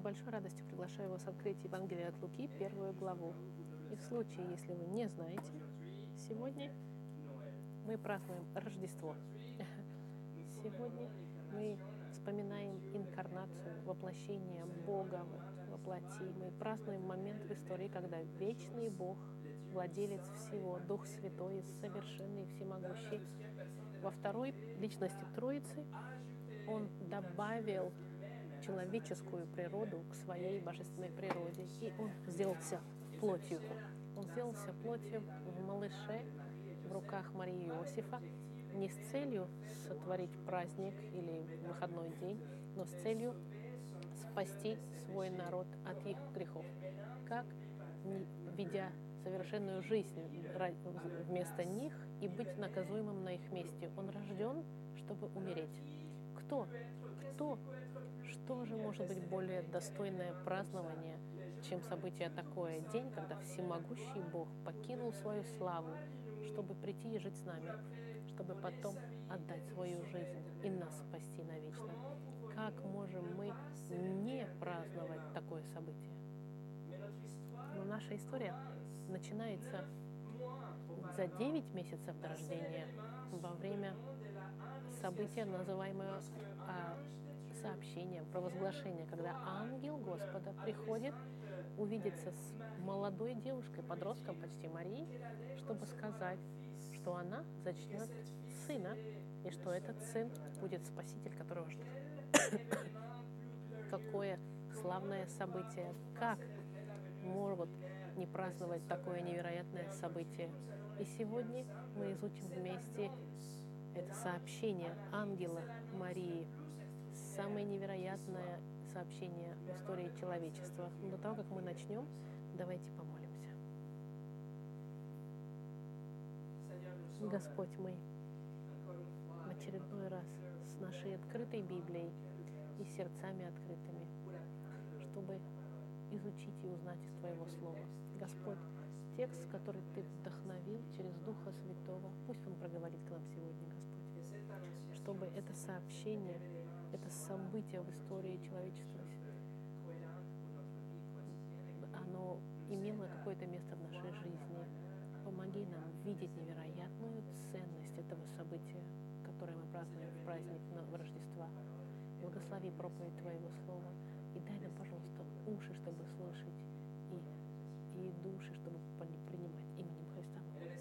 большой радостью приглашаю вас открыть Евангелие от Луки, 1 главу. И в случае, если вы не знаете, сегодня мы празднуем Рождество. Сегодня мы вспоминаем инкарнацию, воплощение Бога во плоти. Мы празднуем момент в истории, когда вечный Бог, владелец всего, Дух Святой, совершенный, всемогущий, во второй личности Троицы, Он добавил человеческую природу к своей божественной природе, и Он сделался плотью. Он сделался плотью в малыше в руках Марии и Иосифа, не с целью сотворить праздник или выходной день, но с целью спасти свой народ от их грехов. Как, ведя совершенную жизнь вместо них и быть наказуемым на их месте, Он рожден, чтобы умереть. Кто? Что же может быть более достойное празднование, чем событие такое? День, когда всемогущий Бог покинул свою славу, чтобы прийти и жить с нами, чтобы потом отдать свою жизнь и нас спасти навечно. Как можем мы не праздновать такое событие? Но наша история начинается за 9 месяцев до рождения, во время события, называемого сообщением, провозглашением, когда ангел Господа приходит увидеться с молодой девушкой, подростком почти Марией, чтобы сказать, что она зачнет сына, и что этот сын будет спаситель, которого ждет. Какое славное событие! Как могут не праздновать такое невероятное событие? И сегодня мы изучим вместе это сообщение ангела Марии, самое невероятное сообщение в истории человечества. Но до того, как мы начнем, давайте помолимся. Господь, мы в очередной раз с нашей открытой Библией и сердцами открытыми, чтобы изучить и узнать из Твоего Слова. Господь, текст, который Ты вдохновил через Духа Святого, пусть он проговорит к нам сегодня, Господь, чтобы это сообщение, это событие в истории человечества, оно имело какое-то место в нашей жизни. Помоги нам видеть невероятную ценность этого события, которое мы празднуем в праздник Рождества. Благослови проповедь Твоего Слова и дай нам, пожалуйста, уши, чтобы слышать, и души, чтобы принимать именем Христа.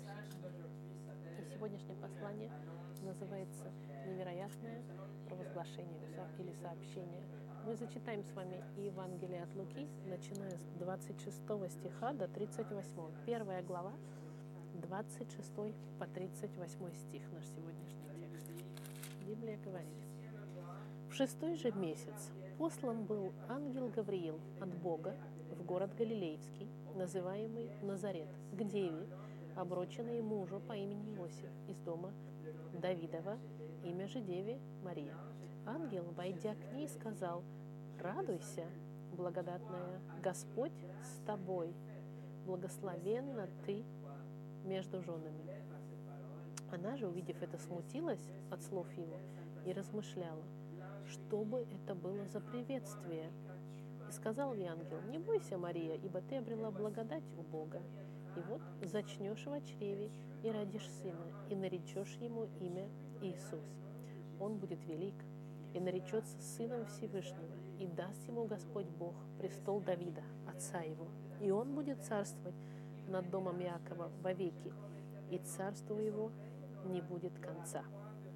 И сегодняшнее послание называется «Невероятное провозглашение» или «Сообщение». Мы зачитаем с вами Евангелие от Луки, начиная с 26 стиха до 38. 1 глава, 26 по 38 стих, наш сегодняшний текст. Библия говорит: «В 6-й же месяц послан был ангел Гавриил от Бога в город Галилейский, называемый Назарет, к деве, обрученной мужу по имени Иосиф, из дома Давидова, имя же деве Мария. Ангел, войдя к ней, сказал: «Радуйся, благодатная, Господь с тобой, благословенна ты между женами». Она же, увидев это, смутилась от слов его и размышляла, что бы это было за приветствие. И сказал ей ангел: «Не бойся, Мария, ибо ты обрела благодать у Бога. И вот зачнешь в чреве и родишь сына, и наречешь ему имя Иисус. Он будет велик и наречется Сыном Всевышнего, и даст ему Господь Бог престол Давида, отца его. И он будет царствовать над домом Иакова вовеки, и царству его не будет конца».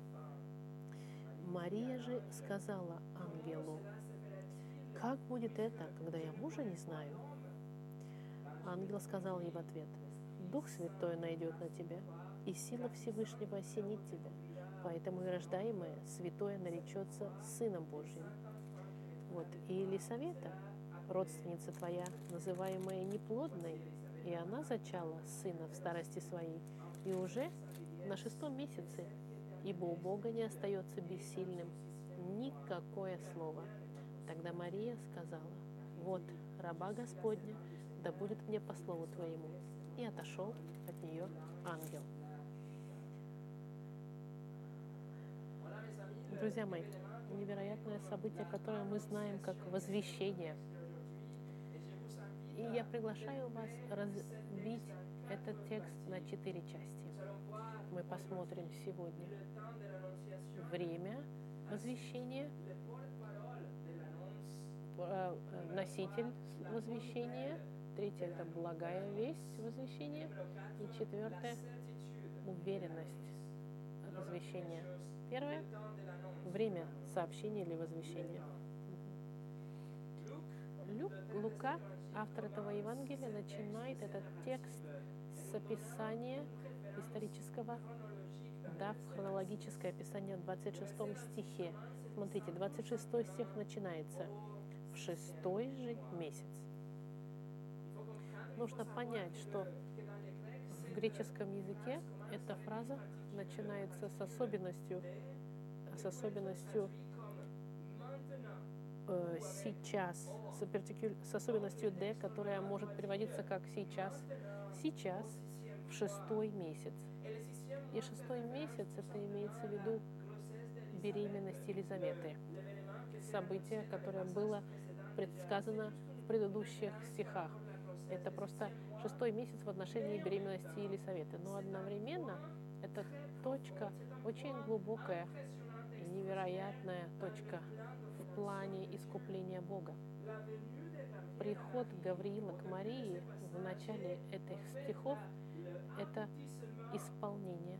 Мария же сказала ангелу: «Как будет это, когда я мужа не знаю?» Ангел сказал ей в ответ: «Дух Святой найдет на тебя, и сила Всевышнего осенит тебя, поэтому и рождаемое святое наречется Сыном Божьим. Вот и Елисавета, родственница твоя, называемая неплодной, и она зачала сына в старости своей, и уже на 6-м месяце, ибо у Бога не остается бессильным никакое слово». Тогда Мария сказала: «Вот раба Господня, да будет мне по слову твоему». И отошел от нее ангел. Друзья мои, невероятное событие, которое мы знаем как возвещение, И я приглашаю вас разбить этот текст на 4 части. Мы посмотрим сегодня время возвещения, носитель возвещения, третье — это благая весть возвещения, и четвертое — уверенность возвещения. Первое — время сообщения или возвещения. Лука, автор этого Евангелия, начинает этот текст с описания исторического, дав хронологическое описание в 26 стихе. Смотрите, 26 стих начинается: «В 6-й же месяц». Нужно понять, что в греческом языке эта фраза начинается с особенностью сейчас, с особенностью «д», которая может переводиться как «сейчас». Сейчас, в 6-й месяц. И 6-й месяц — это имеется в виду беременность Елизаветы. Событие, которое было предсказано в предыдущих стихах. Это просто 6-й месяц в отношении беременности Елизаветы. Но одновременно эта точка очень глубокая и невероятная точка в плане искупления Бога. Приход Гавриила к Марии в начале этих стихов — это исполнение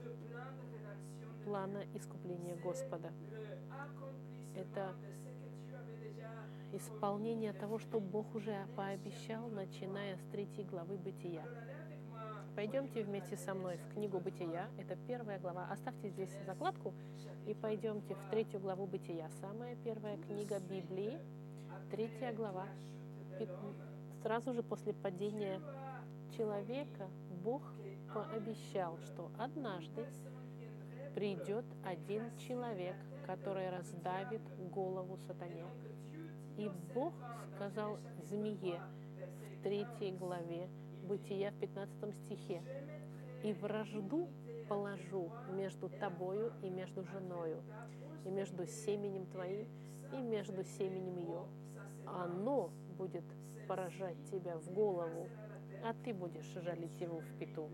плана искупления Господа. Это исполнение того, что Бог уже пообещал, начиная с 3 главы Бытия. Пойдемте вместе со мной в книгу Бытия. Это 1 глава. Оставьте здесь закладку и пойдемте в 3 главу Бытия. Самая первая книга Библии, 3 глава. Сразу же после падения человека Бог пообещал, что однажды придет один человек, который раздавит голову сатане. И Бог сказал змее в 3 главе Бытия в 15 стихе: «И вражду положу между тобою и между женою, и между семенем твоим и между семенем ее. Оно будет поражать тебя в голову, а ты будешь жалить его в пяту».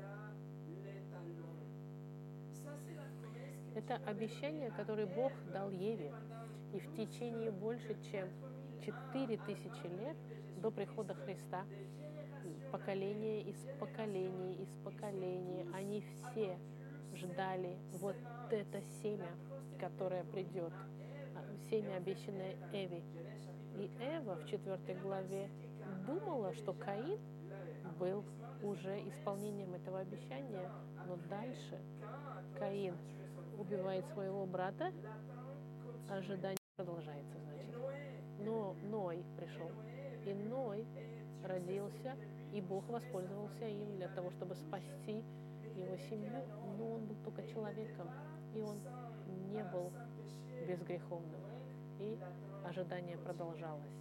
Это обещание, которое Бог дал Еве. И в течение больше чем 4000 лет до прихода Христа, поколение из поколения, они все ждали вот это семя, которое придет, семя, обещанное Эве. И Эва в 4 главе думала, что Каин был уже исполнением этого обещания, но дальше Каин убивает своего брата, ожидание продолжается, значит. Но Ной пришел, и Ной родился, и Бог воспользовался им для того, чтобы спасти его семью, но он был только человеком, и он не был безгреховным, и ожидание продолжалось.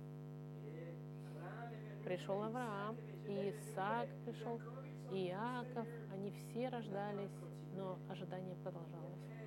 Пришел Авраам, и Исаак пришел, и Иаков, они все рождались, но ожидание продолжалось.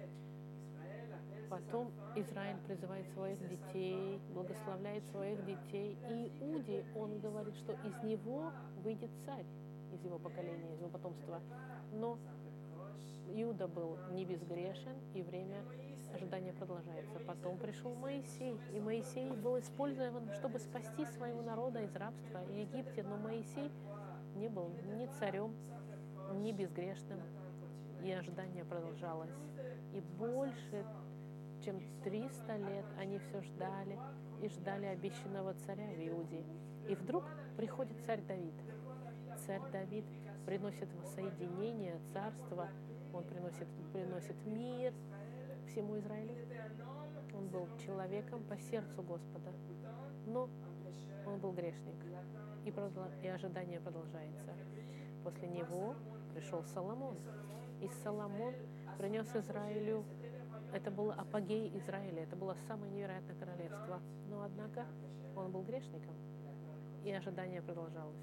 Потом Израиль призывает своих детей, благословляет своих детей. И Иуде он говорит, что из него выйдет царь, из его поколения, из его потомства. Но Иуда был не безгрешен, и время ожидания продолжается. Потом пришел Моисей, и Моисей был использован, чтобы спасти своего народа из рабства в Египте. Но Моисей не был ни царем, ни безгрешным, и ожидание продолжалось. И больше чем 300 лет они все ждали и ждали обещанного царя в Иуде. И вдруг приходит царь Давид. Царь Давид приносит воссоединение царства, он приносит мир всему Израилю. Он был человеком по сердцу Господа, но он был грешник, и ожидание продолжается. После него пришел Соломон, и Соломон принес Израилю. Это был апогей Израиля, это было самое невероятное королевство. Но, однако, он был грешником, и ожидание продолжалось.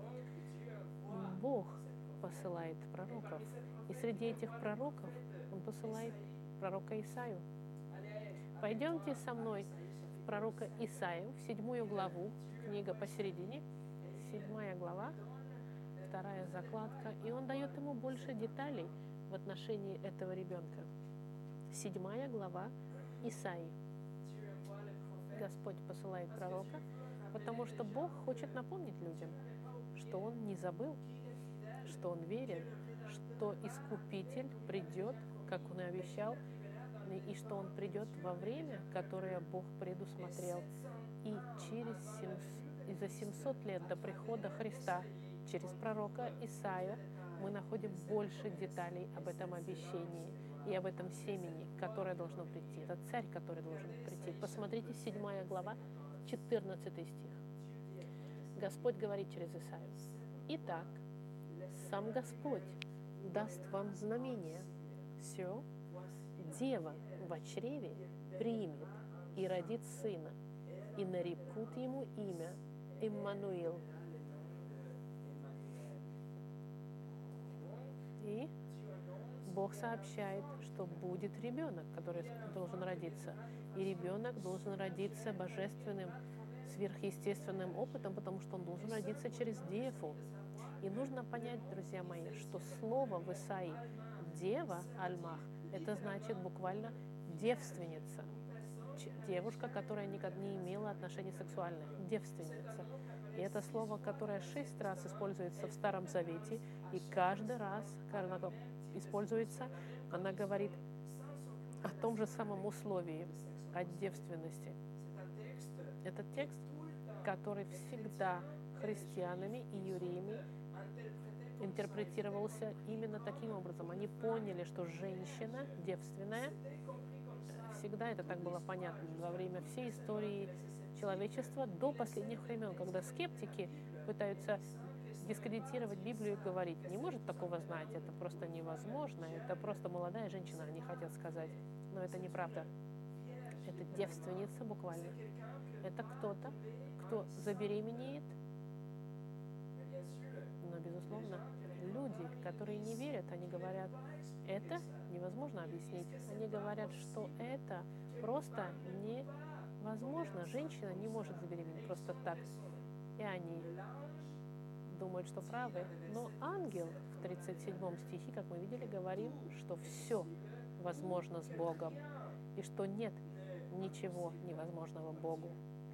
Бог посылает пророков, и среди этих пророков он посылает пророка Исаию. Пойдемте со мной в пророка Исаию, в 7 главу, книга посередине, 7 глава, 2 закладка, и он дает ему больше деталей в отношении этого ребенка. 7 глава Исаии. Господь посылает пророка, потому что Бог хочет напомнить людям, что Он не забыл, что Он верен, что Искупитель придет, как Он и обещал, и что Он придет во время, которое Бог предусмотрел. И за 700 лет до прихода Христа через пророка Исаию мы находим больше деталей об этом обещании и об этом семени, которое должно прийти. Это царь, который должен прийти. Посмотрите, 7 глава, 14 стих. Господь говорит через Исаию: «Итак, сам Господь даст вам знамение. Все, дева во чреве примет и родит сына, и нарекут ему имя Иммануил». И Бог сообщает, что будет ребенок, который должен родиться. И ребенок должен родиться божественным, сверхъестественным опытом, потому что он должен родиться через деву. И нужно понять, друзья мои, что слово в Исаии «дева», «альмах», это значит буквально девственница. Девушка, которая никогда не имела отношений сексуальных. Девственница. И это слово, которое 6 раз используется в Старом Завете, и каждый раз, когда оно используется, она говорит о том же самом условии, о девственности. Это текст, который всегда христианами и евреями интерпретировался именно таким образом. Они поняли, что женщина девственная, всегда это так было понятно во время всей истории человечества до последних времен, когда скептики пытаются дискредитировать Библию и говорить: не может такого знать, это просто невозможно, это просто молодая женщина, они хотят сказать. Но это неправда. Это девственница буквально. Это кто-то, кто забеременеет. Но, безусловно, люди, которые не верят, они говорят: это невозможно объяснить. Они говорят, что это просто невозможно. Женщина не может забеременеть просто так. И они думают, что правы. Но ангел в 37 стихе, как мы видели, говорит, что все возможно с Богом. И что нет ничего невозможного Богу.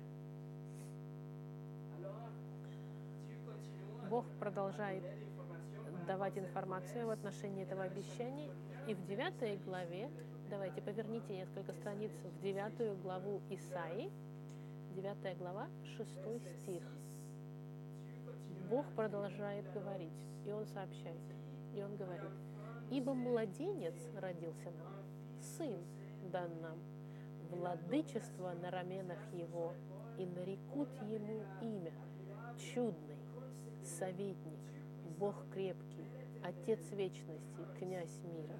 Бог продолжает давать информацию в отношении этого обещания. И в 9 главе, давайте поверните несколько страниц в 9 главу Исаии, 9 глава, 6 стих. Бог продолжает говорить, и Он сообщает, и Он говорит: «Ибо младенец родился нам, сын дан нам, владычество на раменах его, и нарекут ему имя чудный, советник, Бог крепкий, Отец вечности, князь мира».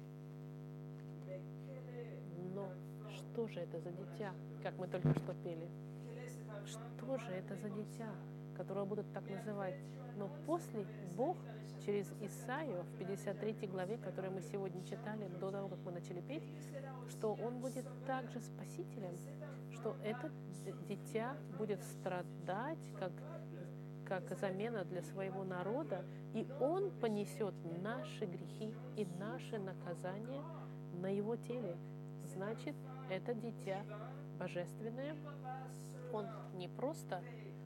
Но что же это за дитя, как мы только что пели? Что же это за дитя, которого будут так называть? Но после Бог через Исаию в 53 главе, которую мы сегодня читали до того, как мы начали петь, что Он будет также Спасителем, что это дитя будет страдать как замена для своего народа, и Он понесет наши грехи и наши наказания на Его теле. Значит, это дитя божественное. Он не просто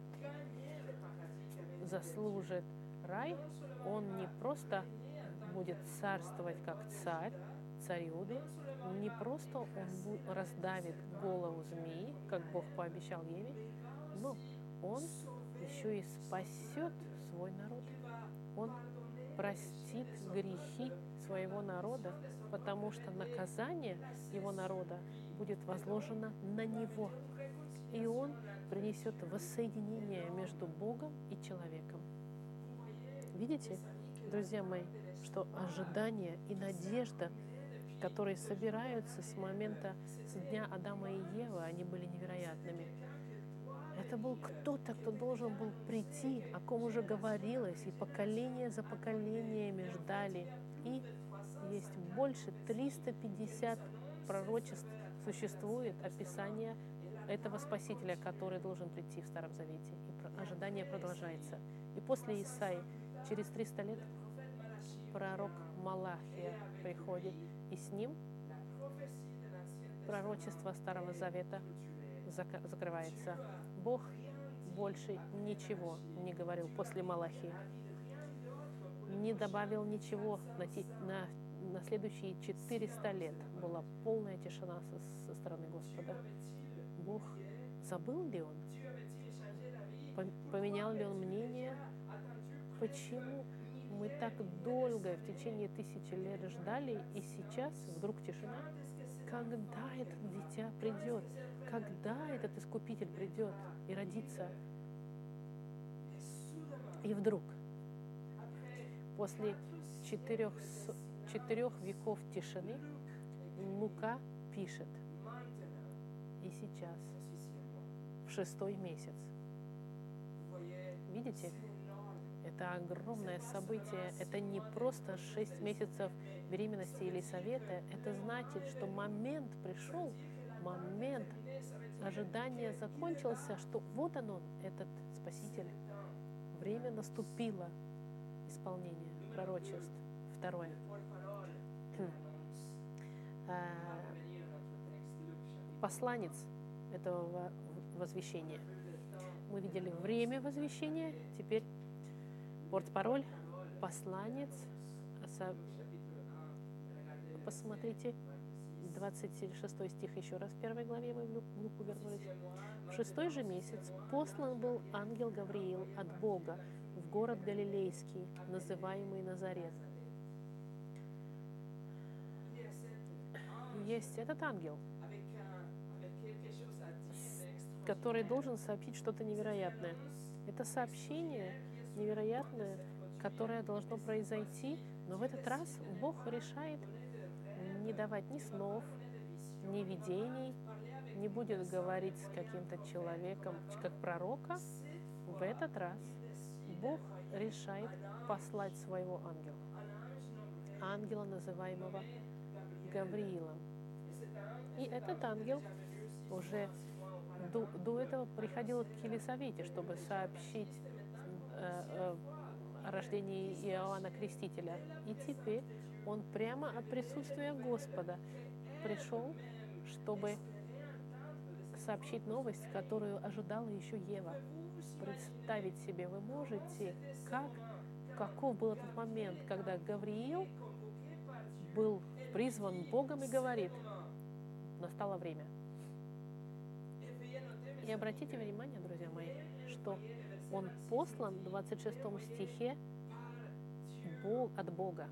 заслужит рай, он не просто будет царствовать как царь Иуды, не просто он раздавит голову змеи, как Бог пообещал Еве, но он еще и спасет свой народ. Он простит грехи своего народа, потому что наказание его народа будет возложено на него. И он принесет воссоединение между Богом и человеком. Видите, друзья мои, что ожидание и надежда, которые собираются с момента, с дня Адама и Евы, они были невероятными. Это был кто-то, кто должен был прийти, о ком уже говорилось, и поколение за поколениями ждали. И есть больше 350 пророчеств, существует описание этого Спасителя, который должен прийти в Старом Завете. И ожидание продолжается. И после Исаии, через 300 лет, пророк Малахия приходит, и с ним пророчество Старого Завета закрывается. Бог больше ничего не говорил после Малахии. Не добавил ничего на следующие 400 лет. Была полная тишина со стороны Господа. Бог забыл ли Он? Поменял ли Он мнение? Почему мы так долго, в течение 1000 лет ждали, и сейчас вдруг тишина? Когда этот дитя придет? Когда этот Искупитель придет и родится? И вдруг, после 4 веков тишины, Лука пишет: и сейчас, в 6-й месяц. Видите? Это огромное событие. Это не просто 6 месяцев беременности или совета. Это значит, что момент пришел, момент ожидания закончился, что вот он, этот Спаситель. Время наступило. Исполнение пророчеств. Второе. Посланец этого возвещения. Мы видели время возвещения, теперь портпароль, посланец. Посмотрите, 26 стих еще раз в 1 главе, мы в Луку вернулись. В 6-й же месяц послан был ангел Гавриил от Бога в город Галилейский, называемый Назарет. Есть этот ангел, который должен сообщить что-то невероятное. Это сообщение невероятное, которое должно произойти, но в этот раз Бог решает не давать ни снов, ни видений, не будет говорить с каким-то человеком, как пророка. В этот раз Бог решает послать своего ангела. Ангела, называемого Гавриилом. И этот ангел уже до этого приходил к Елисавете, чтобы сообщить о рождении Иоанна Крестителя. И теперь он прямо от присутствия Господа пришел, чтобы сообщить новость, которую ожидала еще Ева. Представить себе вы можете, каков был этот момент, когда Гавриил был призван Богом и говорит: настало время. И обратите внимание, друзья мои, что он послан в 26 стихе от Бога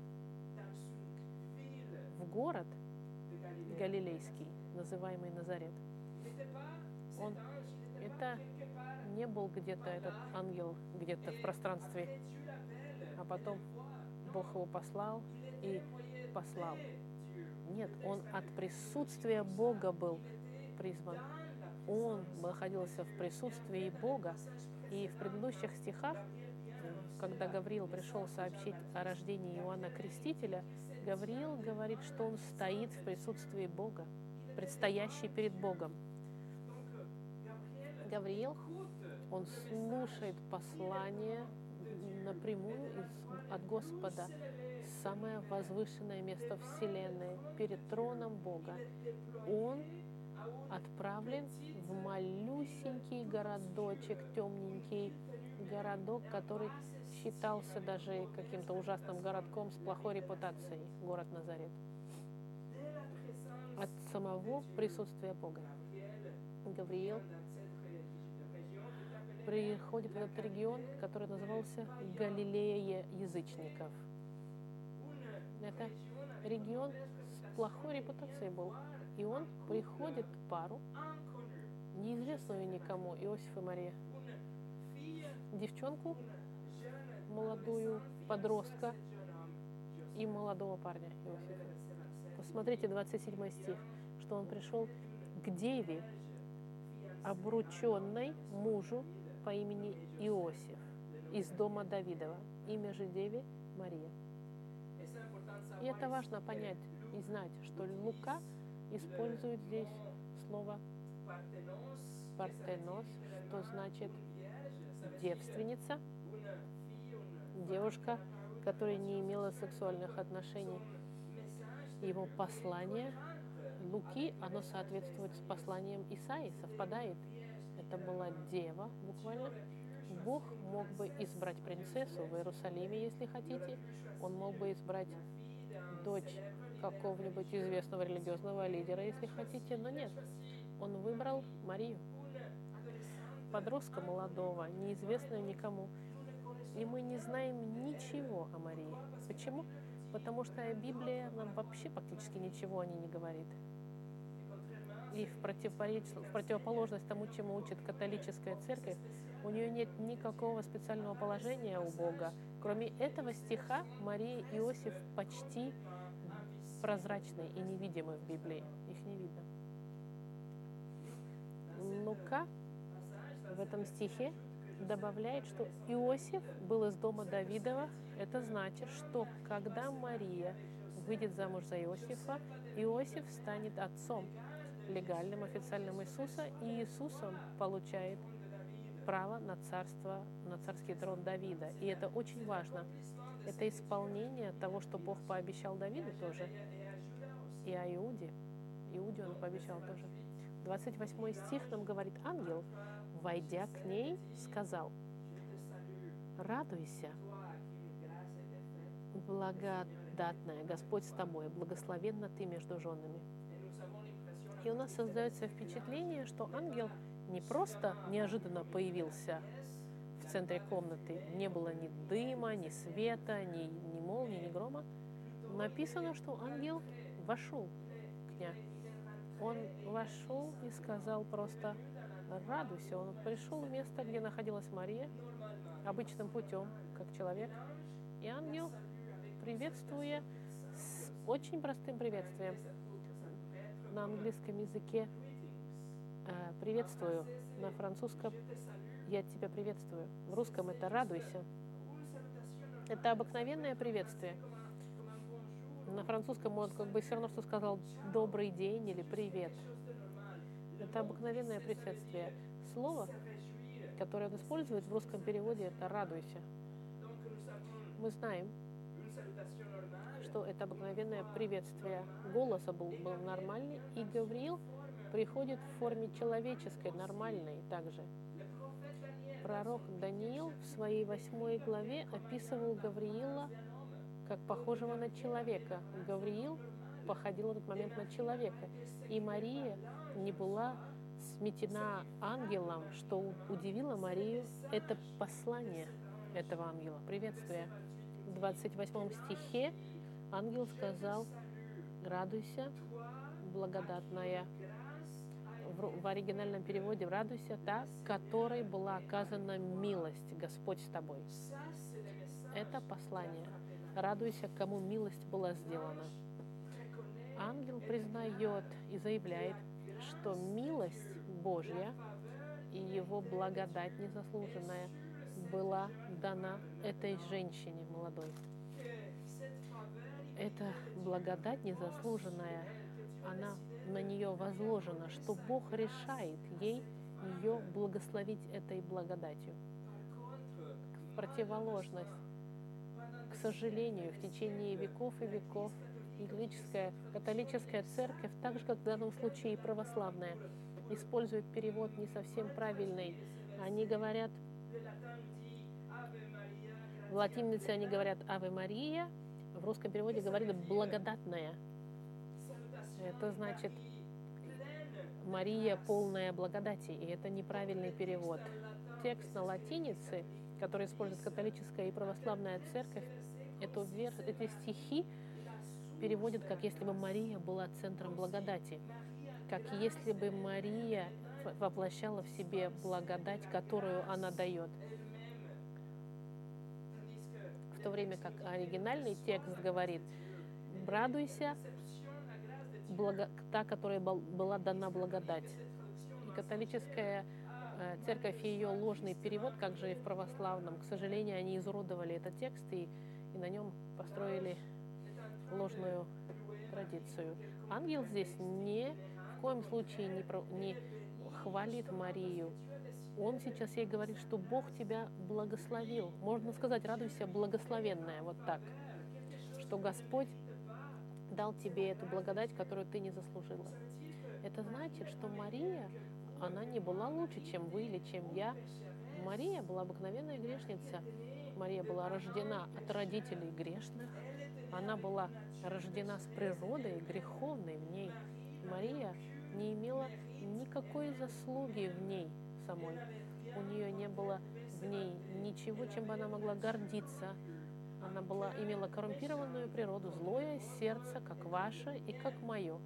в город Галилейский, называемый Назарет. Это не был где-то этот ангел где-то в пространстве, а потом Бог его послал и послал. Нет, он от присутствия Бога был призван. Он находился в присутствии Бога. И в предыдущих стихах, когда Гавриил пришел сообщить о рождении Иоанна Крестителя, Гавриил говорит, что он стоит в присутствии Бога, предстоящий перед Богом. Гавриил, он слушает послание напрямую от Господа, самое возвышенное место Вселенной, перед троном Бога. Он отправлен в малюсенький городочек, темненький городок, который считался даже каким-то ужасным городком с плохой репутацией, город Назарет. От самого присутствия Бога. Гавриил приходит в этот регион, который назывался Галилея язычников. Это регион с плохой репутацией был. И он приходит к пару, неизвестную никому, Иосиф и Мария. Девчонку, молодую, подростка и молодого парня Иосифа. Посмотрите 27 стих, что он пришел к деве, обрученной мужу по имени Иосиф из дома Давидова. Имя же деве Мария. И это важно понять и знать, что Лука использует здесь слово Партенос, что значит девственница, девушка, которая не имела сексуальных отношений. Его послание Луки, оно соответствует с посланием Исаии, совпадает. Это была дева, буквально. Бог мог бы избрать принцессу в Иерусалиме, если хотите. Он мог бы избрать дочь какого-нибудь известного религиозного лидера, если хотите, но нет. Он выбрал Марию, подростка молодого, неизвестную никому. И мы не знаем ничего о Марии. Почему? Потому что Библия нам вообще практически ничего о ней не говорит. И в противоположность тому, чему учит католическая церковь, у нее нет никакого специального положения у Бога. Кроме этого стиха, Мария и Иосиф почти прозрачны и невидимы в Библии. Их не видно. Лука в этом стихе добавляет, что Иосиф был из дома Давидова. Это значит, что когда Мария выйдет замуж за Иосифа, Иосиф станет отцом, легальным, официальным Иисуса, и Иисусом получает право на царство, на царский трон Давида. И это очень важно. Это исполнение того, что Бог пообещал Давиду тоже, и о Иуде. Иуде он пообещал тоже. 28 стих нам говорит: ангел, войдя к ней, сказал: «Радуйся, благодатная, Господь с тобой, благословенна ты между женами». И у нас создается впечатление, что ангел не просто неожиданно появился в центре комнаты, не было ни дыма, ни света, ни молнии, ни грома. Написано, что ангел вошел к ней. Он вошел и сказал просто: «Радуйся». Он пришел в место, где находилась Мария, обычным путем, как человек. И ангел, приветствуя с очень простым приветствием, на английском языке «приветствую», на французском «я тебя приветствую», в русском это «радуйся». Это обыкновенное приветствие. На французском он как бы все равно, что сказал «добрый день» или «привет». Это обыкновенное приветствие. Слово, которое он использует в русском переводе, это «радуйся». Мы знаем, что это обыкновенное приветствие. Голос был нормальный, и Гавриил приходит в форме человеческой, нормальной также. Пророк Даниил в своей 8 главе описывал Гавриила как похожего на человека. Гавриил походил в этот момент на человека. И Мария не была сметена ангелом, что удивило Марию. Это послание этого ангела, приветствие. В 28 стихе ангел сказал: «Радуйся, благодатная». В оригинальном переводе «радуйся, та, которой была оказана милость, Господь с тобой». Это послание. Радуйся, кому милость была сделана. Ангел признает и заявляет, что милость Божья и его благодать незаслуженная была дана этой женщине молодой. Эта благодать незаслуженная, она на нее возложена, что Бог решает ей ее благословить этой благодатью. В противоположность, к сожалению, в течение веков и веков католическая церковь, так же как в данном случае и православная, использует перевод не совсем правильный. Они говорят, в латинице они говорят «Аве Мария», в русском переводе говорят «благодатная». Это значит «Мария, полная благодати», и это неправильный перевод. Текст на латинице, который использует католическая и православная церковь, эти стихи переводят, как если бы Мария была центром благодати, как если бы Мария воплощала в себе благодать, которую она дает. В то время как оригинальный текст говорит: «Радуйся, та, которой была дана благодать». И католическая церковь и ее ложный перевод, как же и в православном, к сожалению, они изуродовали этот текст и на нем построили ложную традицию. Ангел здесь ни в коем случае не хвалит Марию. Он сейчас ей говорит, что Бог тебя благословил. Можно сказать, радуйся, благословенная, вот так. Что Господь дал тебе эту благодать, которую ты не заслужила. Это значит, что Мария, она не была лучше, чем вы или чем я. Мария была обыкновенная грешница. Мария была рождена от родителей грешных. Она была рождена с природой греховной в ней. Мария не имела никакой заслуги в ней самой. У нее не было в ней ничего, чем бы она могла гордиться. Она имела коррумпированную природу, злое сердце, как ваше и как мое.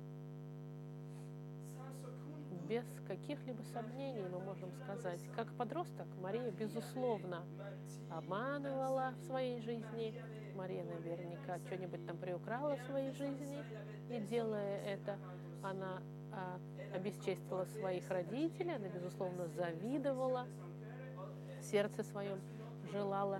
Без каких-либо сомнений мы можем сказать, как подросток Мария, безусловно, обманывала в своей жизни. Мария наверняка что-нибудь там приукрала в своей жизни, и делая это, она обесчестила своих родителей, она, безусловно, завидовала, в сердце своем желала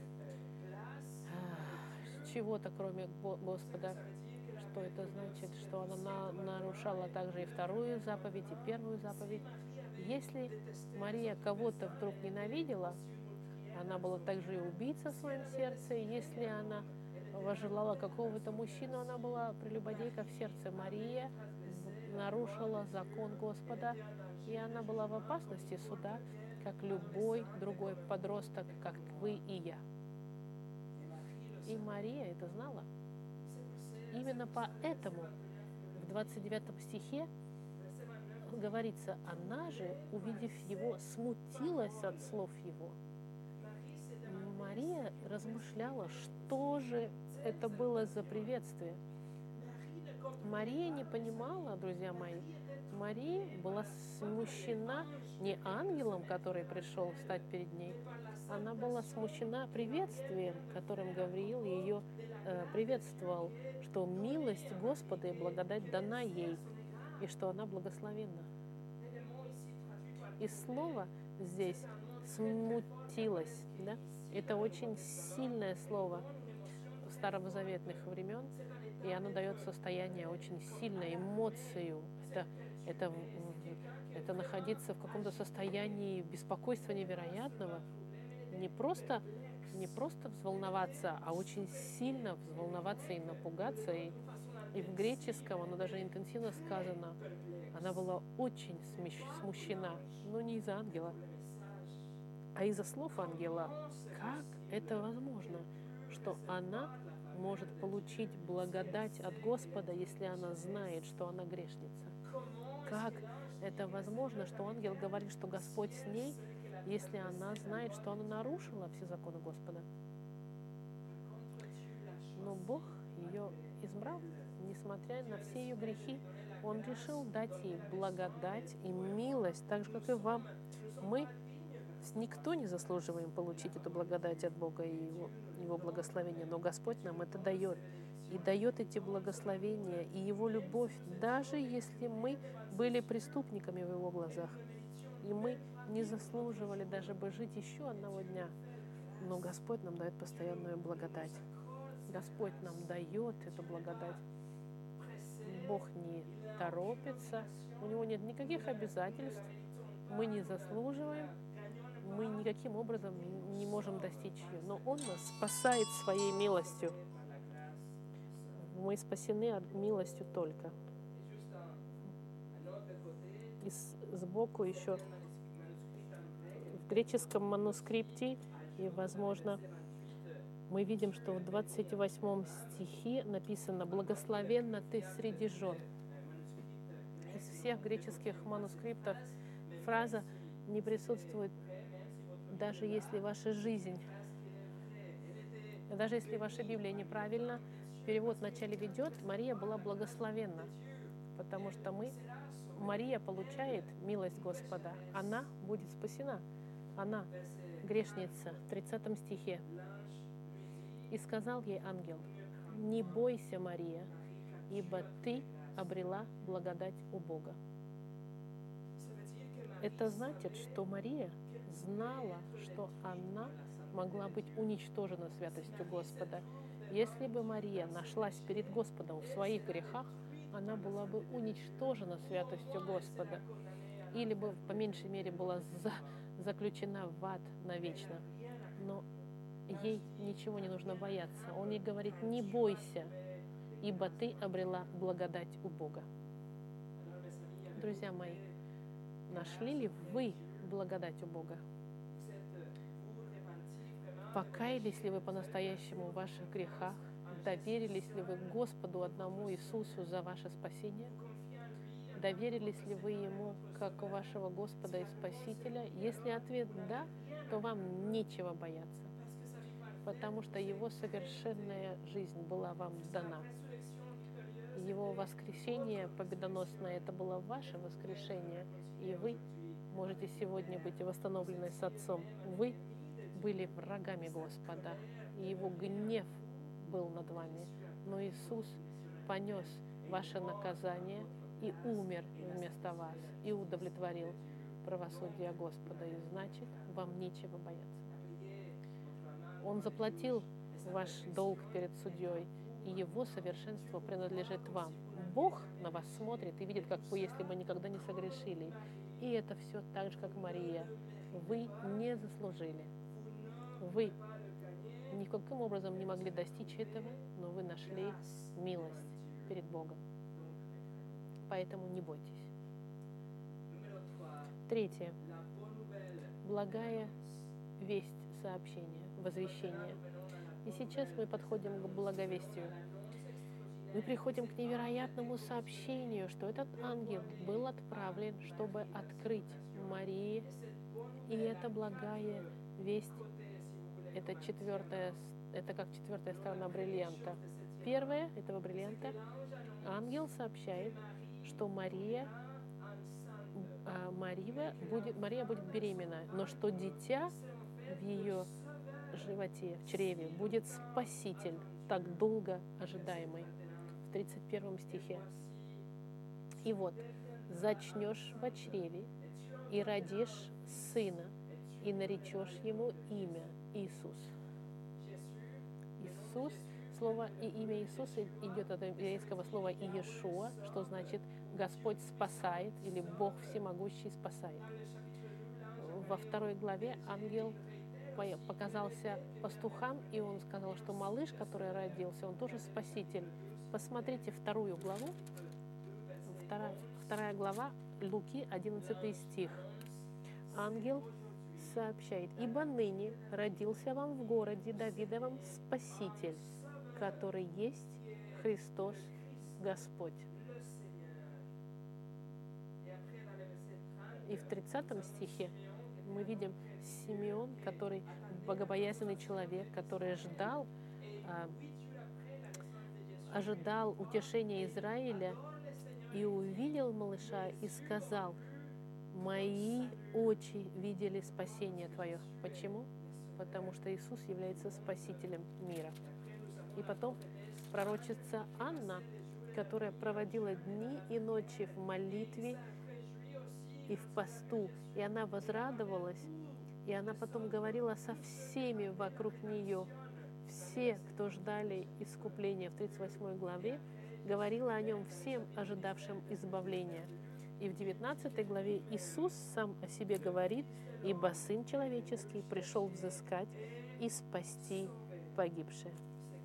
чего-то, кроме Господа. Что это значит? Что она нарушала также и вторую заповедь, и первую заповедь. Если Мария кого-то вдруг ненавидела, она была также и убийца в своем сердце. Если она возжелала какого-то мужчину, она была прелюбодейка в сердце. Мария нарушила закон Господа, и она была в опасности суда, как любой другой подросток, как вы и я. И Мария это знала. Именно поэтому в 29 стихе говорится, она же, увидев его, смутилась от слов его. Мария размышляла, что же это было за приветствие. Мария не понимала, друзья мои, Мария была смущена не ангелом, который пришел встать перед ней, она была смущена приветствием, которым Гавриил ее приветствовал, что милость Господа и благодать дана ей, и что она благословенна. И слово здесь «смутилась», да? Это очень сильное слово старозаветных времен, и оно дает состояние очень сильной эмоцию. Это находиться в каком-то состоянии беспокойства невероятного, не просто взволноваться, а очень сильно взволноваться и напугаться. И в греческом оно даже интенсивно сказано. Она была очень смущена, но не из-за ангела, а из-за слов ангела. Как это возможно, что она может получить благодать от Господа, если она знает, что она грешница? Как это возможно, что ангел говорит, что Господь с ней, если она знает, что она нарушила все законы Господа? Но Бог ее избрал, несмотря на все ее грехи. Он решил дать ей благодать и милость, так же, как и вам. Мы никто не заслуживаем получить эту благодать от Бога и Его благословения, но Господь нам это дает. И дает эти благословения и Его любовь, даже если мы были преступниками в Его глазах. И мы не заслуживали даже бы жить еще одного дня. Но Господь нам дает постоянную благодать. Господь нам дает эту благодать. Бог не торопится, у Него нет никаких обязательств. Мы не заслуживаем, мы никаким образом не можем достичь ее. Но Он нас спасает своей милостью. Мы спасены милостью только. И сбоку еще в греческом манускрипте, и, возможно, мы видим, что в 28 стихе написано «Благословенна ты среди жен». Из всех греческих манускриптов фраза не присутствует, даже если ваша жизнь, даже если ваша Библия неправильна, перевод вначале ведет, Мария была благословенна, потому что Мария получает милость Господа, она будет спасена, она грешница. В 30 стихе. «И сказал ей ангел: не бойся, Мария, ибо ты обрела благодать у Бога». Это значит, что Мария знала, что она могла быть уничтожена святостью Господа. Если бы Мария нашлась перед Господом в своих грехах, она была бы уничтожена святостью Господа. или бы, по меньшей мере, была заключена в ад навечно. Но ей ничего не нужно бояться. Он ей говорит: не бойся, ибо ты обрела благодать у Бога. Друзья мои, нашли ли вы благодать у Бога? Покаялись ли вы по-настоящему в ваших грехах? Доверились ли вы Господу одному Иисусу за ваше спасение? Доверились ли вы Ему как вашего Господа и Спасителя? Если ответ «да», то вам нечего бояться, потому что Его совершенная жизнь была вам дана. Его воскресение победоносное – это было ваше воскрешение, и вы можете сегодня быть восстановлены с Отцом. Вы были врагами Господа, и Его гнев был над вами. Но Иисус понес ваше наказание и умер вместо вас, и удовлетворил правосудие Господа, и значит, вам нечего бояться. Он заплатил ваш долг перед судьей, и Его совершенство принадлежит вам. Бог на вас смотрит и видит, как вы, если бы никогда не согрешили. И это все так же, как Мария. Вы не заслужили. Вы никаким образом не могли достичь этого, но вы нашли милость перед Богом. Поэтому не бойтесь. Третье. Благая весть, сообщение, возвещение. И сейчас мы подходим к благовестию. Мы приходим к невероятному сообщению, что этот ангел был отправлен, чтобы открыть Марии. И это благая весть, это как четвертая сторона бриллианта. Первая этого бриллианта: ангел сообщает, что Мария будет беременна, но что дитя в ее животе, в чреве, будет Спаситель, так долго ожидаемый. В 31 стихе. И вот, зачнешь во чреве, и родишь сына, и наречешь ему имя Иисус. Иисус, слово и имя Иисуса идет от еврейского слова Иешуа, что значит Господь спасает, или Бог всемогущий спасает. Во 2 главе ангел показался пастухам, и он сказал, что малыш, который родился, он тоже спаситель. Посмотрите 2 главу, 2 глава Луки, 11 стих. Ангел сообщает: «Ибо ныне родился вам в городе Давидовом Спаситель, который есть Христос Господь». И в 30 стихе мы видим Симеон, который богобоязненный человек, который ожидал утешения Израиля, и увидел малыша и сказал: «Мои очи видели спасение Твое». Почему? Потому что Иисус является Спасителем мира. И потом пророчица Анна, которая проводила дни и ночи в молитве и в посту, и она возрадовалась, и она потом говорила со всеми вокруг нее. Все, кто ждали искупления, в 38 главе, говорила о нем всем, ожидавшим избавления. И в 19 главе Иисус сам о себе говорит: «Ибо Сын Человеческий пришел взыскать и спасти погибшие».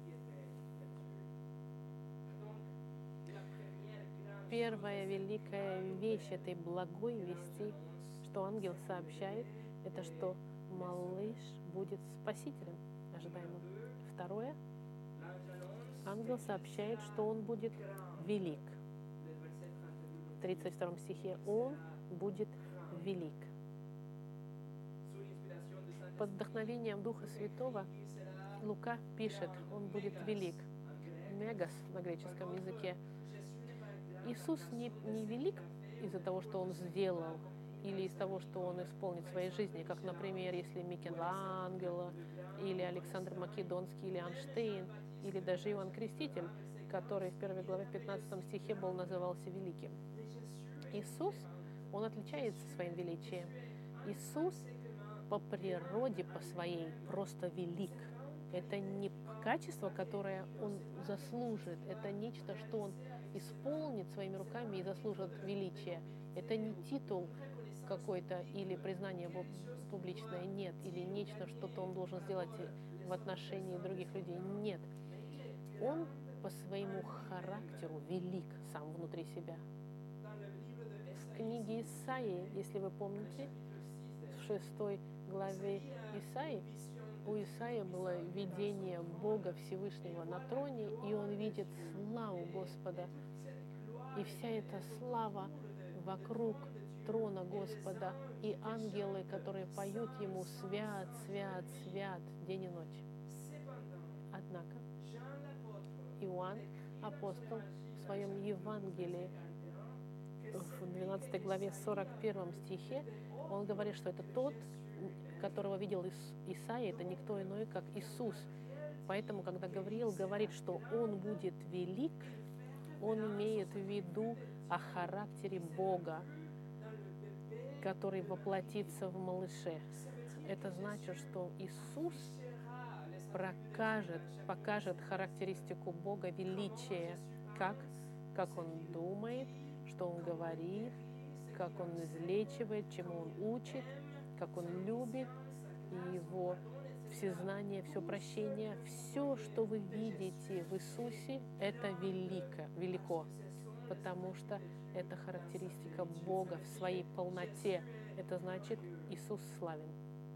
Первая великая вещь этой благой вести, что ангел сообщает, это что малыш будет спасителем ожидаемым. Второе, ангел сообщает, что он будет велик. В 32 стихе: он будет велик. Под вдохновением Духа Святого Лука пишет: он будет велик. Мегас на греческом языке. Иисус не велик из-за того, что он сделал, или из того, что он исполнит в своей жизни, как, например, если Микеланджело, или Александр Македонский, или Эйнштейн, или даже Иоанн Креститель, который в 1 главе 15 стихе назывался великим. Иисус, он отличается своим величием. Иисус по природе, по своей, просто велик. Это не качество, которое он заслужит, это нечто, что он исполнит своими руками и заслужит величие. Это не титул, какой-то или признание публичное, нет, или нечто, что-то он должен сделать в отношении других людей, нет. Он по своему характеру велик сам внутри себя. В книге Исаии, если вы помните, в 6 главе Исаии, у Исаии было видение Бога Всевышнего на троне, и он видит славу Господа. И вся эта слава вокруг трона Господа, и ангелы, которые поют Ему «Свят, свят, свят» день и ночь. Однако Иоанн, апостол, в своем Евангелии, в 12 главе 41 стихе, он говорит, что это тот, которого видел Исаия, это никто иной, как Иисус. Поэтому, когда Гавриил говорит, что Он будет велик, он имеет в виду о характере Бога, который воплотится в малыше. Это значит, что Иисус покажет характеристику Бога величия, как Он думает, что Он говорит, как Он излечивает, чему Он учит, как Он любит, и Его всезнание, все прощение, все, что вы видите в Иисусе, это велико, потому что это характеристика Бога в своей полноте. Это значит, Иисус славен.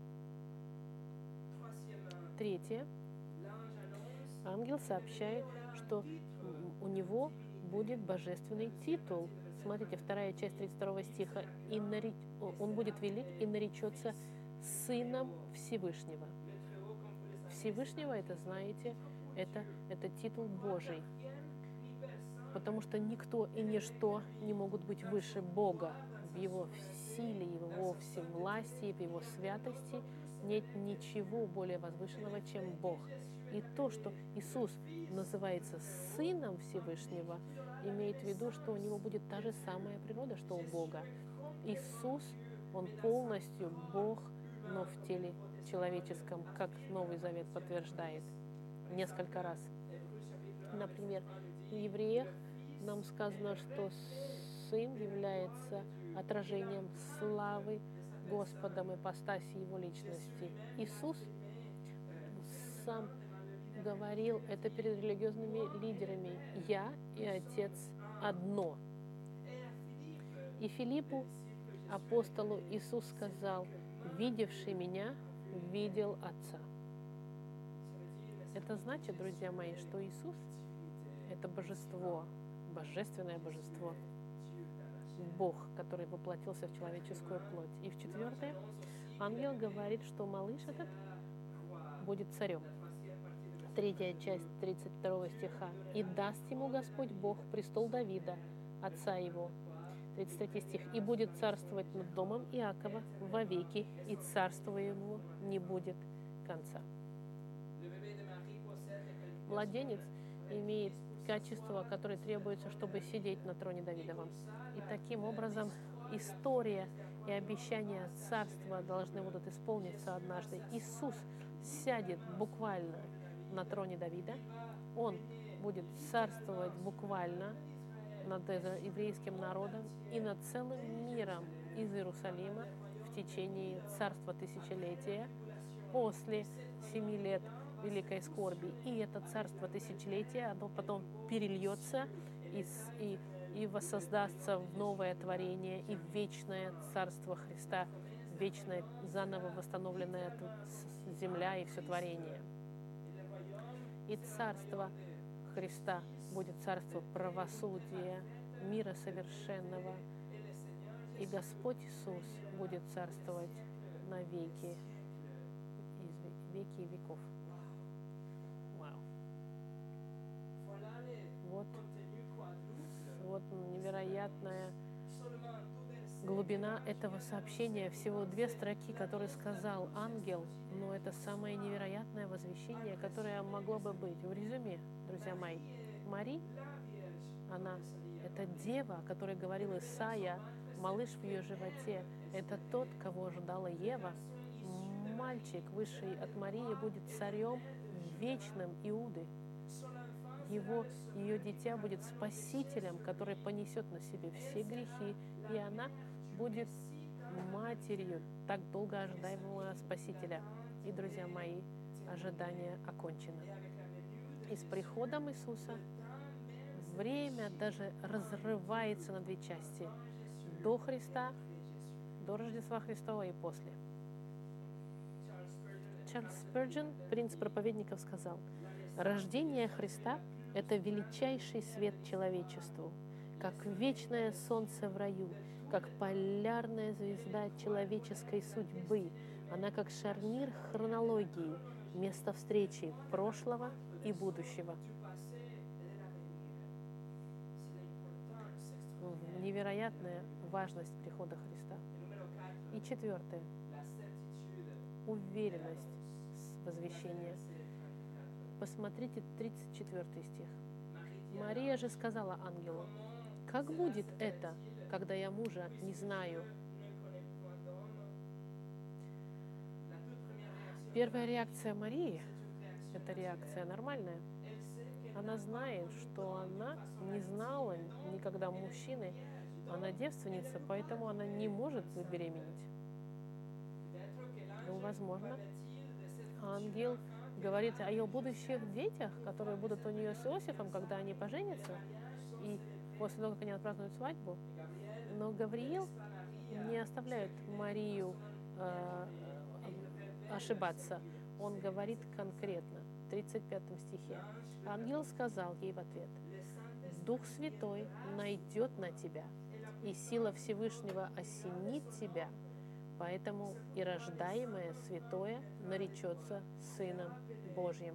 Третье. Ангел сообщает, что у него будет божественный титул. Смотрите, 2 часть 32 стиха. Он будет велик и наречется Сыном Всевышнего. Всевышнего, это знаете, это титул Божий. Потому что никто и ничто не могут быть выше Бога. В Его силе, в Его всевластии, в Его святости нет ничего более возвышенного, чем Бог. И то, что Иисус называется Сыном Всевышнего, имеет в виду, что у Него будет та же самая природа, что у Бога. Иисус, Он полностью Бог, но в теле человеческом, как Новый Завет подтверждает несколько раз. Например, в Евреях нам сказано, что Сын является отражением славы Господа, ипостаси Его личности. Иисус сам говорил это перед религиозными лидерами: «Я и Отец одно». И Филиппу, апостолу, Иисус сказал: «Видевший Меня, видел Отца». Это значит, друзья мои, что Иисус — это божество, божественное божество, Бог, который воплотился в человеческую плоть. И в 4, ангел говорит, что малыш этот будет царем. 3 часть 32 стиха. «И даст ему Господь Бог престол Давида, отца его». 33 стих. «И будет царствовать над домом Иакова вовеки, и царство его не будет конца». Младенец имеет качества, которые требуются, чтобы сидеть на троне Давидовом. И таким образом история и обещания царства должны будут исполниться однажды. Иисус сядет буквально на троне Давида. Он будет царствовать буквально над еврейским народом и над целым миром из Иерусалима в течение царства тысячелетия после 7 лет великой скорби. И это царство тысячелетия, оно потом перельется и воссоздастся в новое творение и в вечное царство Христа, вечное, заново восстановленная земля и все творение. И царство Христа будет царство правосудия, мира совершенного. И Господь Иисус будет царствовать на веки, веки и веков. Вау. Вот невероятная глубина этого сообщения. Всего 2 строки, которые сказал ангел, но это самое невероятное возвещение, которое могло бы быть. В резюме, друзья мои, Мария, это дева, о которой говорил Исаия, малыш в ее животе. Это тот, кого ожидала Ева. Мальчик, высший от Марии, будет царем вечным Иуды. Ее дитя будет спасителем, который понесет на себе все грехи, и она будет матерью так долго ожидаемого Спасителя. И, друзья мои, ожидание окончено. И с приходом Иисуса время даже разрывается на две части. До Христа, до Рождества Христова и после. Чарльз Спurgeon, принц проповедников, сказал: «Рождение Христа – это величайший свет человечеству, как вечное солнце в раю, как полярная звезда человеческой судьбы. Она как шарнир хронологии, место встречи прошлого и будущего». Невероятная важность прихода Христа. И четвертое. Уверенность возвещения. Посмотрите 34 стих. «Мария же сказала ангелу: как будет это, когда я мужа не знаю?» Первая реакция Марии – это реакция нормальная. Она знает, что она не знала никогда мужчины, она девственница, поэтому она не может забеременеть. Ну, возможно, ангел говорит о ее будущих детях, которые будут у нее с Иосифом, когда они поженятся, и после того, как они отпразднуют свадьбу. Но Гавриил не оставляет Марию ошибаться. Он говорит конкретно, в 35 стихе. Ангел сказал ей в ответ: «Дух Святой найдет на тебя, и сила Всевышнего осенит тебя, поэтому и рождаемое святое наречется Сыном Божьим».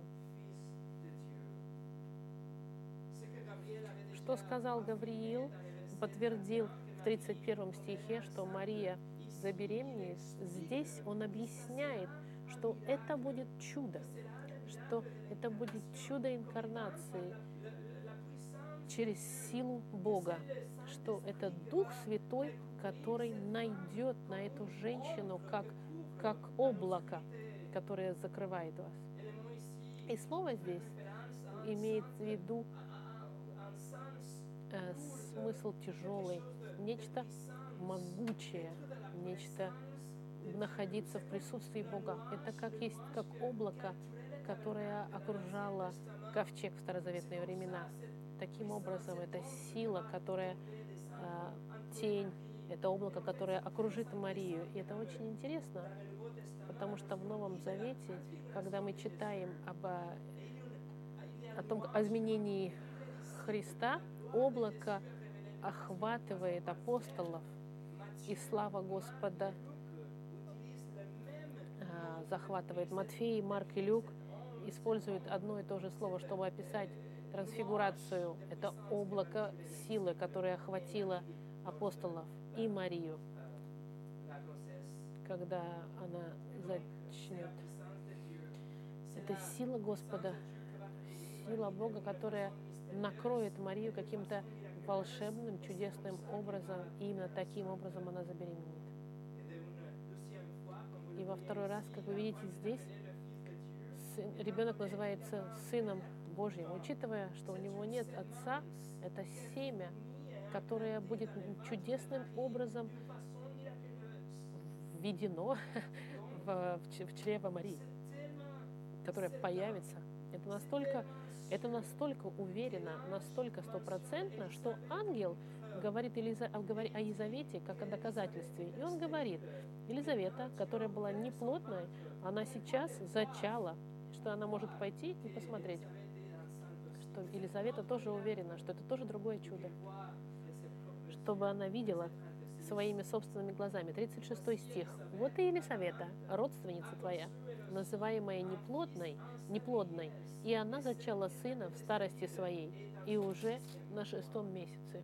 Что сказал Гавриил, подтвердил в 31 стихе, что Мария забеременеет. Здесь он объясняет, что это будет чудо, что это будет чудо инкарнации через силу Бога, что это Дух Святой, который найдет на эту женщину как облако, которое закрывает вас. И слово здесь имеет в виду смысл тяжелый, нечто могучее, нечто находиться в присутствии Бога. Это как облако, которое окружало ковчег в старозаветные времена. Таким образом, это сила, которая тень, это облако, которое окружит Марию. И это очень интересно, потому что в Новом Завете, когда мы читаем о изменении Христа, облако охватывает апостолов, и слава Господа захватывает. Матфей, Марк и Люк используют одно и то же слово, чтобы описать трансфигурацию. Это облако силы, которое охватило апостолов и Марию, когда она зачнет. Это сила Господа, сила Бога, которая накроет Марию каким-то волшебным, чудесным образом, и именно таким образом она забеременеет. И во второй раз, как вы видите здесь, ребенок называется Сыном Божьим, учитывая, что у него нет отца, это семя, которое будет чудесным образом введено в чрево Марии, которое появится. Это настолько уверенно, настолько стопроцентно, что ангел говорит о Елизавете как о доказательстве. И он говорит: Елизавета, которая была неплодной, она сейчас зачала, что она может пойти и посмотреть, что Елизавета тоже уверена, что это тоже другое чудо, чтобы она видела своими собственными глазами. 36 стих. «Вот и Елизавета, родственница твоя, называемая неплодной, и она зачала сына в старости своей, и уже на 6-м месяце».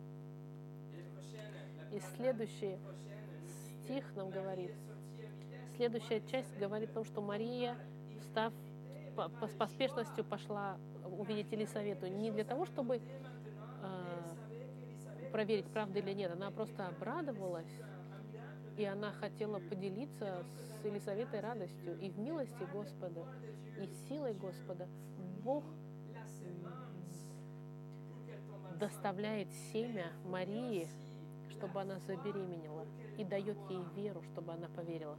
И следующий стих нам говорит, следующая часть говорит о том, что Мария, встав с поспешностью, пошла увидеть Елисавету не для того, чтобы проверить, правда или нет, она просто обрадовалась, и она хотела поделиться с Елисаветой радостью. И в милости Господа, и силой Господа Бог доставляет семя Марии, чтобы она забеременела, и дает ей веру, чтобы она поверила.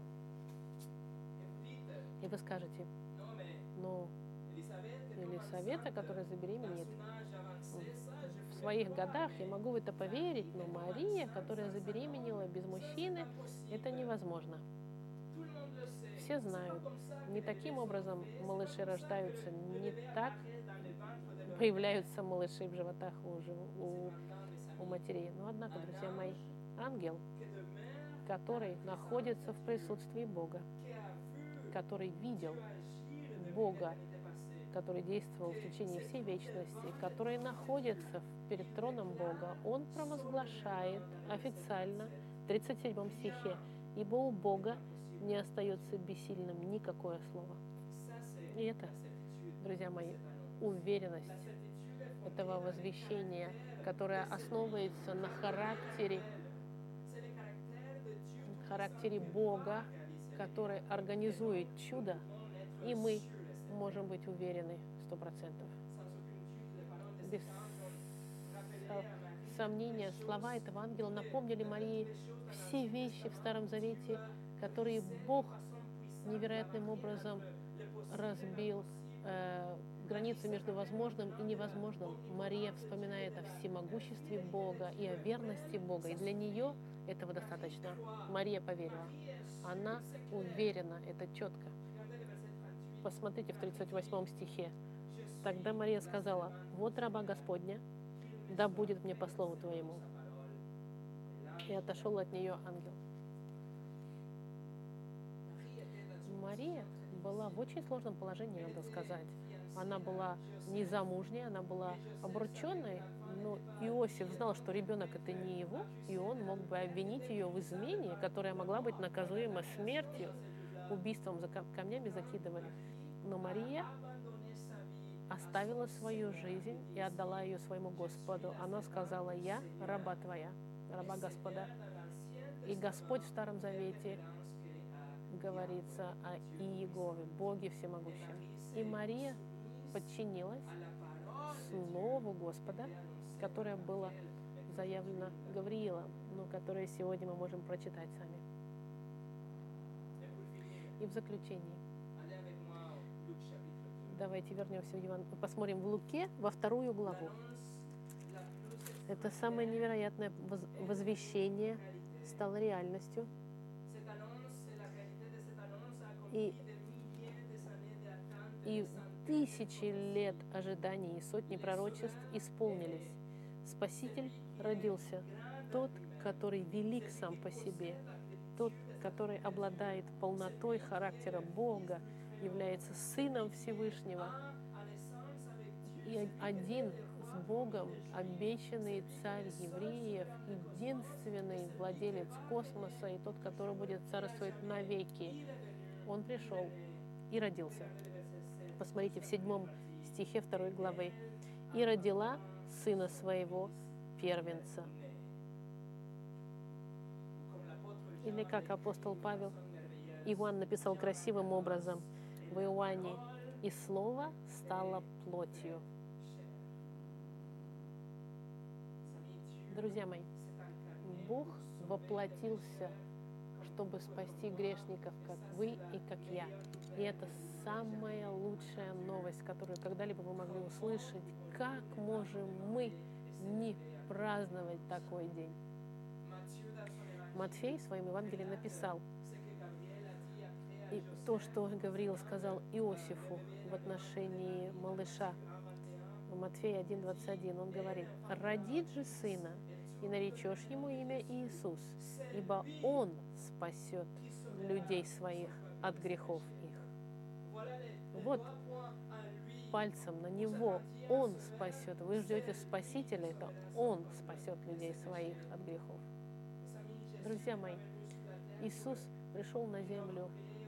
И вы скажете, ну, Елисавета, которая забеременеет в своих годах, я могу в это поверить, но Мария, которая забеременела без мужчины, это невозможно. Все знают, не таким образом малыши рождаются, не так появляются малыши в животах у матерей. Но однако, друзья мои, ангел, который находится в присутствии Бога, который видел Бога, который действовал в течение всей вечности, который находится перед троном Бога, он провозглашает официально в 37 стихе: «Ибо у Бога не остается бессильным никакое слово». И это, друзья мои, уверенность этого возвещения, которое основывается на характере Бога, который организует чудо, и мы можем быть уверены 100%. Без сомнения, слова этого ангела напомнили Марии все вещи в Старом Завете, которые Бог невероятным образом разбил границу между возможным и невозможным. Мария вспоминает о всемогуществе Бога и о верности Бога, и для нее этого достаточно. Мария поверила. Она уверена, это четко. Посмотрите в 38 стихе. Тогда Мария сказала: «Вот раба Господня, да будет мне по слову Твоему». И отошел от нее ангел. Мария была в очень сложном положении, надо сказать. Она была незамужняя, она была обрученной, но Иосиф знал, что ребенок это не его, и он мог бы обвинить ее в измене, которая могла быть наказуема смертью, убийством, за камнями закидывали. Но Мария оставила свою жизнь и отдала ее своему Господу. Она сказала: «Я раба Твоя, раба Господа». И Господь в Старом Завете говорится о Иегове, Боге всемогущем. И Мария подчинилась Слову Господа, которое было заявлено Гавриилом, но которое сегодня мы можем прочитать сами. И в заключении давайте вернемся в Евангелие, посмотрим в Луке во 2 главу. Это самое невероятное возвещение стало реальностью. И тысячи лет ожиданий и сотни пророчеств исполнились. Спаситель родился, тот, который велик сам по себе, тот, который обладает полнотой характера Бога, является Сыном Всевышнего и один с Богом, обещанный царь евреев, единственный владелец космоса и тот, который будет царствовать навеки. Он пришел и родился. Посмотрите в 7 стихе 2 главы. «И родила сына своего первенца». Или как апостол Павел, Иоанн написал красивым образом в Иоанне: «И слово стало плотью». Друзья мои, Бог воплотился, чтобы спасти грешников, как вы и как я. И это самая лучшая новость, которую когда-либо вы могли услышать. Как можем мы не праздновать такой день? Матфей в своем Евангелии написал, и то, что Гавриил сказал Иосифу в отношении малыша. В Матфея 1:21 он говорит: «Родит же сына, и наречешь ему имя Иисус, ибо он спасет людей своих от грехов их». Вот пальцем на него. Он спасет. Вы ждете Спасителя, это Он спасет людей своих от грехов. Друзья мои, Иисус пришел на землю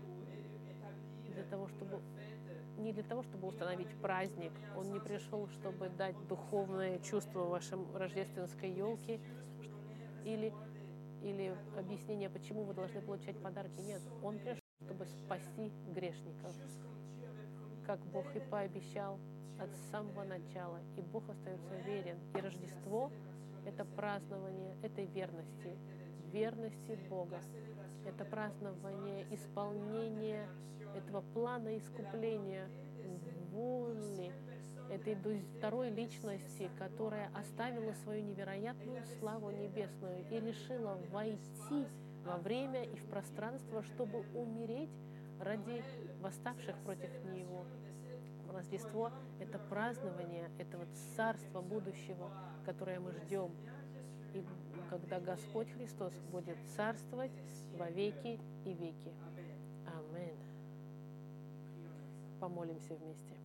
не для того, чтобы установить праздник. Он не пришел, чтобы дать духовное чувство вашей рождественской елке или объяснение, почему вы должны получать подарки. Нет, Он пришел, чтобы спасти грешников, как Бог и пообещал от самого начала. И Бог остается верен. И Рождество Это празднование этой верности, верности Бога. Это празднование исполнения этого плана искупления, воли этой второй личности, которая оставила свою невероятную славу небесную и решила войти во время и в пространство, чтобы умереть ради восставших против Него. Рождество — это празднование этого царства будущего, которое мы ждем. И когда Господь Христос будет царствовать во веки и веки. Аминь. Помолимся вместе.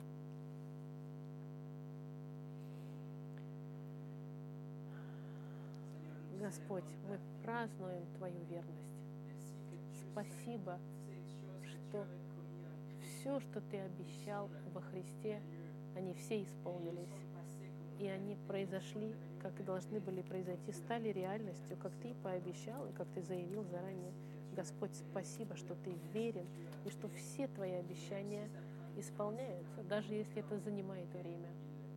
Господь, мы празднуем Твою верность. Спасибо, что все, что Ты обещал во Христе, они все исполнились. И они произошли, как и должны были произойти, стали реальностью, как Ты пообещал и как Ты заявил заранее. Господь, спасибо, что Ты верен и что все Твои обещания исполняются, даже если это занимает время.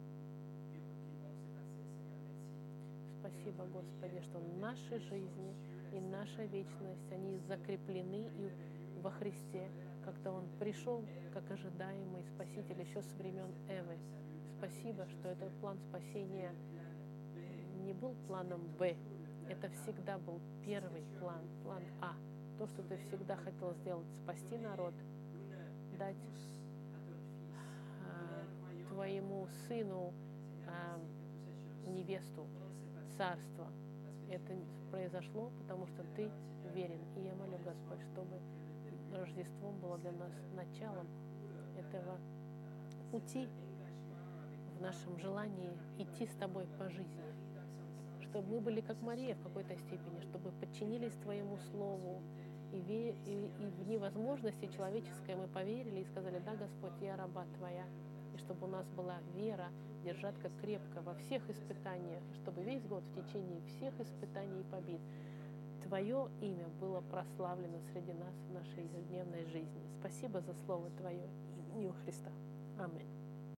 Спасибо, Господи, что наши жизни и наша вечность, они закреплены и во Христе, когда Он пришел как ожидаемый Спаситель еще со времен Эвы. Спасибо, что этот план спасения не был планом Б. Это всегда был первый план, план А. То, что Ты всегда хотел сделать, спасти народ, дать Твоему Сыну невесту, царство. Это произошло, потому что Ты верен. И я молю, Господь, чтобы Рождество было для нас началом этого пути в нашем желании идти с Тобой по жизни. Чтобы мы были как Мария в какой-то степени, чтобы подчинились Твоему Слову, и в невозможности человеческой мы поверили и сказали: да, Господь, я раба Твоя. И чтобы у нас была вера держать как крепко во всех испытаниях, чтобы весь год в течение всех испытаний и побед Твое имя было прославлено среди нас в нашей ежедневной жизни. Спасибо за Слово Твое. Имя Христа. Аминь.